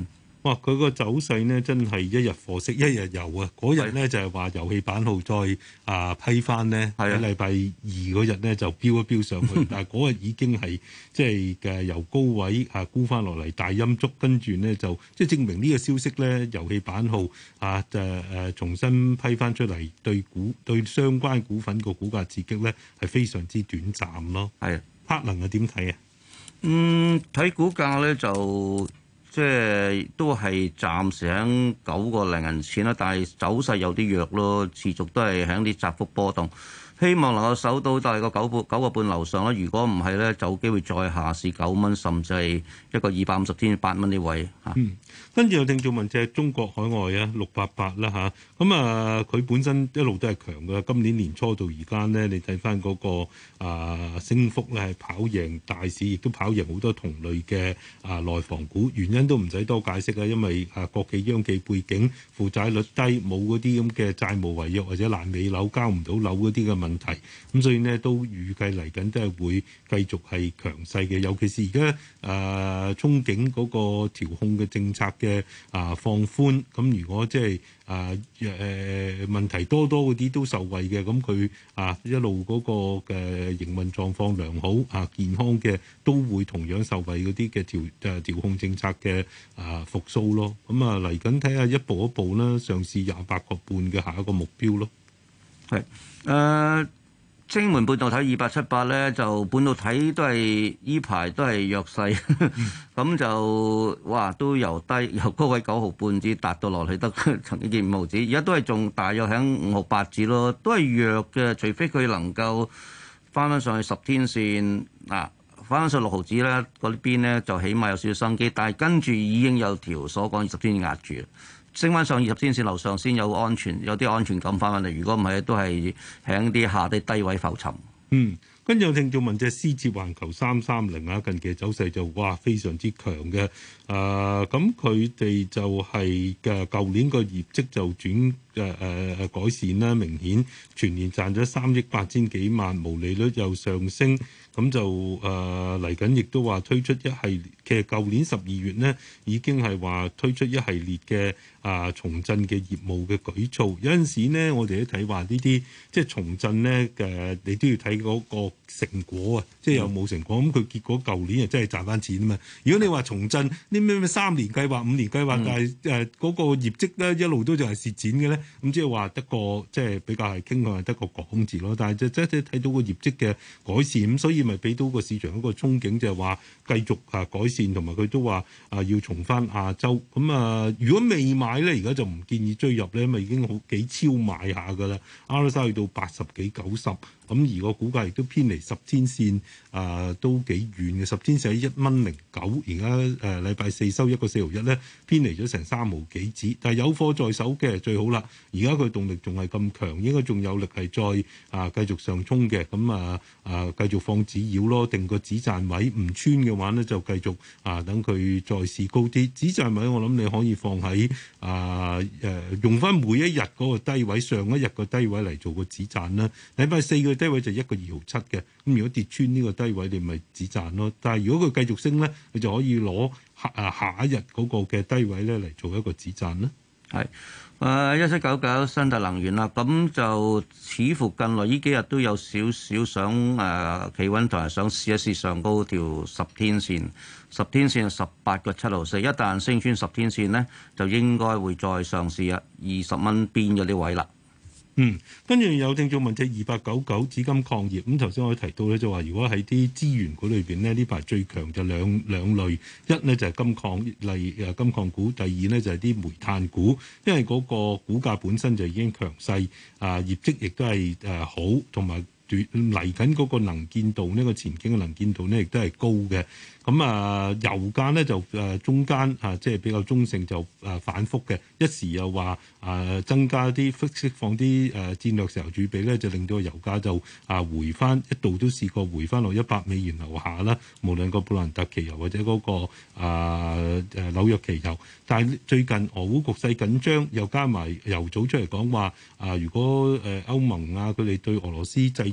哇！佢個走勢呢，真係一日貨色一日遊啊！嗰日呢，就係話遊戲版號再啊批翻呢，喺禮拜二嗰日呢，就飆一飆上去，但係嗰日已經係即係嘅由高位啊沽翻落嚟大陰燭，跟住呢，就即係證明呢個消息呢，遊戲版號啊誒誒、啊、重新批翻出嚟，對股對相關股份個股價刺激呢，係非常之短暫咯。係，柏能係點睇啊？ 嗯，睇股價咧就即係都係暫時喺九個零銀錢啦，但係走勢有啲弱咯，持續都係喺啲窄幅波動。希望能夠守到大概九半九個半樓上啦。如果唔係咧，就有機會再下試九蚊，甚至係一個二百五十天八蚊呢位嚇。 嗯，跟住有聽眾問隻中國海外啊，六八八啦嚇。咁啊，佢本身一路都係強嘅。今年年初到而家呢，你睇翻嗰個啊升幅咧係跑贏大市，亦都跑贏好多同類嘅啊內房股。原因都唔使多解釋啊，因為啊國企央企背景，負債率低，冇嗰啲咁嘅債務違約或者爛尾樓交唔到樓嗰啲嘅問題，咁所以呢，都預計嚟緊都係會繼續係強勢嘅，尤其是而家誒憧憬嗰個調控嘅政策嘅啊、呃、放寬，咁如果即係啊誒問題多多嗰啲都受惠嘅，咁佢啊一路嗰個嘅營運狀況良好啊健康嘅，都會同樣受惠嗰啲嘅調誒調控政策嘅啊復甦咯。咁啊嚟緊睇下一步一步啦，上試廿八個半嘅下一個目標咯。 係誒、呃，晶門半導體二八七八咧，就半導體都係依排都係弱勢，咁、嗯、就哇都由低由高位九毫半至達到落去得曾經見五毫子，而家都係仲大約喺五毫八子咯，都係弱嘅，除非佢能夠翻翻上去十天線嗱，翻翻上六毫子咧，嗰邊咧就起碼有少少生機，但係跟住已經有條所講二十天壓住。升翻上二十天線樓上先有安全，有啲安全感翻返嚟。如果唔係，都係喺啲下啲低位浮沉。 嗯，跟住有聽眾問隻思捷環球三三零啊，近期走勢就哇非常之強嘅。誒、呃，咁佢哋就係嘅舊年個業績就轉誒誒改善啦，明顯全年賺咗三億八千幾萬，毛利率又上升。咁就誒嚟緊，亦、呃、都話推出一系列。其實舊年十二月呢已經係話推出一系列嘅啊、呃、重振嘅業務嘅舉措。有陣時呢，我哋都睇話呢啲即係重振呢嘅，你都要睇嗰個成果啊，即係有冇成果。咁佢、嗯、結果舊年係真係賺翻錢啊嘛。如果你話重振啲咩咩三年計劃、五年計劃，嗯、但係誒嗰個業績咧一路都就係蝕錢嘅咧，咁即係話得個即係比較係傾向係得個講字咯。但係就即係睇到個業績嘅改善，咁所以咪俾到個市場一個憧憬，就係話繼續啊改善，同埋佢都話啊要重返亞洲。咁啊，如果未買咧，而家就唔建議追入咧，因為已經好幾超買下㗎啦。R S I 去到八十幾九十。咁而個股價亦都偏離十天線，啊、呃、都幾遠嘅。十天線喺一蚊零九，而家誒禮拜四收一個四毫一咧，偏離咗成三毫幾子。但係有貨在手嘅最好啦。而家佢動力仲係咁強，應該仲有力係再啊繼續上衝嘅。咁啊啊繼續放止腰咯，定個止賺位唔穿嘅話咧，就繼續啊等佢再試高啲。止賺位我諗你可以放喺啊誒、呃、用翻每一日嗰個低位，上一日個低位嚟做個止賺啦。禮拜四嘅低位就一個二毫七嘅，咁如果跌穿呢個低位，你咪止賺咯。但係如果佢繼續升咧，你就可以攞下啊下一日嗰個嘅低位咧嚟做一個止賺啦。 係誒一七九九新特能源啦，咁就似乎近來呢幾日都有少少想誒企穩，同埋想試一試上高條十天線，十天線十八個七毫四，一旦升穿十天線咧，就應該會再嘗試啊二十蚊邊嗰啲位啦。 嗯，跟住有聽眾問隻二八九九紫金礦業，咁頭先我提到咧就話，如果喺啲資源股裏邊呢，呢排最強就兩兩類，一呢就係金礦，例如誒金礦股；第二呢就係啲煤炭股，因為嗰個股價本身就已經強勢，啊業績亦都係誒好，同埋嚟緊嗰個能見度呢、呢個前景嘅能見度呢亦都係高嘅。咁啊，油價咧就誒中間啊，即係比較中性，就誒反覆嘅。一時又話誒增加啲釋放啲誒戰略石油儲備咧，就令到油價就啊回翻，一度都試過回翻落一百美元樓下啦。無論個布蘭特期油或者嗰個啊誒紐約期油，但係最近俄烏局勢緊張，又加埋油組出嚟講話啊，如果誒歐盟啊佢哋對俄羅斯制裁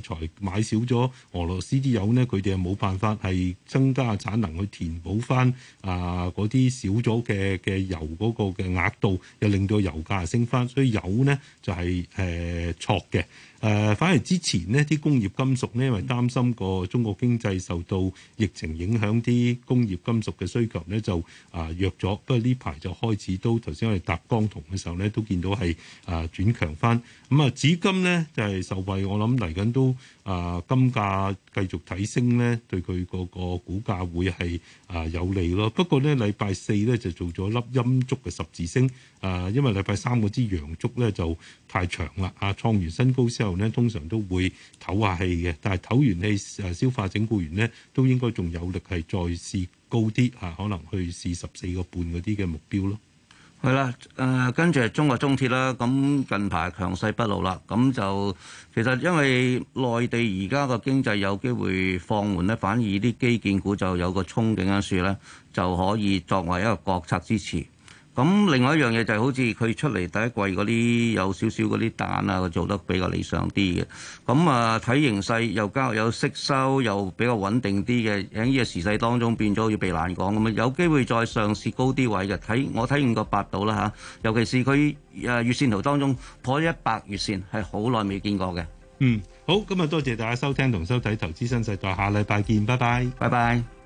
裁買少咗俄羅斯啲油呢，佢哋又冇辦法係增加產能去填補翻啊嗰啲少咗嘅嘅油嗰個嘅額度，又令到油價升翻，所以油呢就係誒錯嘅。誒、呃，反而之前呢啲工業金屬呢，因為擔心個中國經濟受到疫情影響，啲工業金屬嘅需求呢就啊、呃、弱咗。不過呢排就開始都頭先我哋搭鋼銅嘅時候呢，都見到係啊、呃、轉強翻。咁啊，紙金呢就係、是、受惠，我諗嚟緊都啊、呃、金價繼續睇升呢，對佢個個股價會係啊、呃、有利咯。不過呢，禮拜四呢就做咗粒陰燭嘅十字星，啊、呃，因為禮拜三嗰支陽燭呢就太長啦，啊創完新高之後呢，通常都會唞下氣嘅，但係唞完氣誒消化整固完呢，都應該仲有力係再試高啲嚇、啊，可能去試十四個半嗰啲嘅目標咯。 係啦，誒、呃、跟住係中國中鐵啦，咁近排強勢不露啦，咁就其實因為內地而家個經濟有機會放緩咧，反而啲基建股就有個憧憬因素咧，就可以作為一個國策支持。咁另外一樣嘢就係好似佢出嚟第一季嗰啲有少少嗰啲彈啊，佢做得比較理想啲嘅。咁啊睇形勢又交有息收又比較穩定啲嘅，喺呢個時勢當中變咗要避難港咁啊，有機會再上試高啲位嘅。睇我睇五個八度啦嚇，尤其是佢誒月線圖當中破一百月線係好耐未見過嘅。 嗯，好，今日多謝大家收聽同收睇《投資新世代》，下禮拜見，拜拜， 拜拜。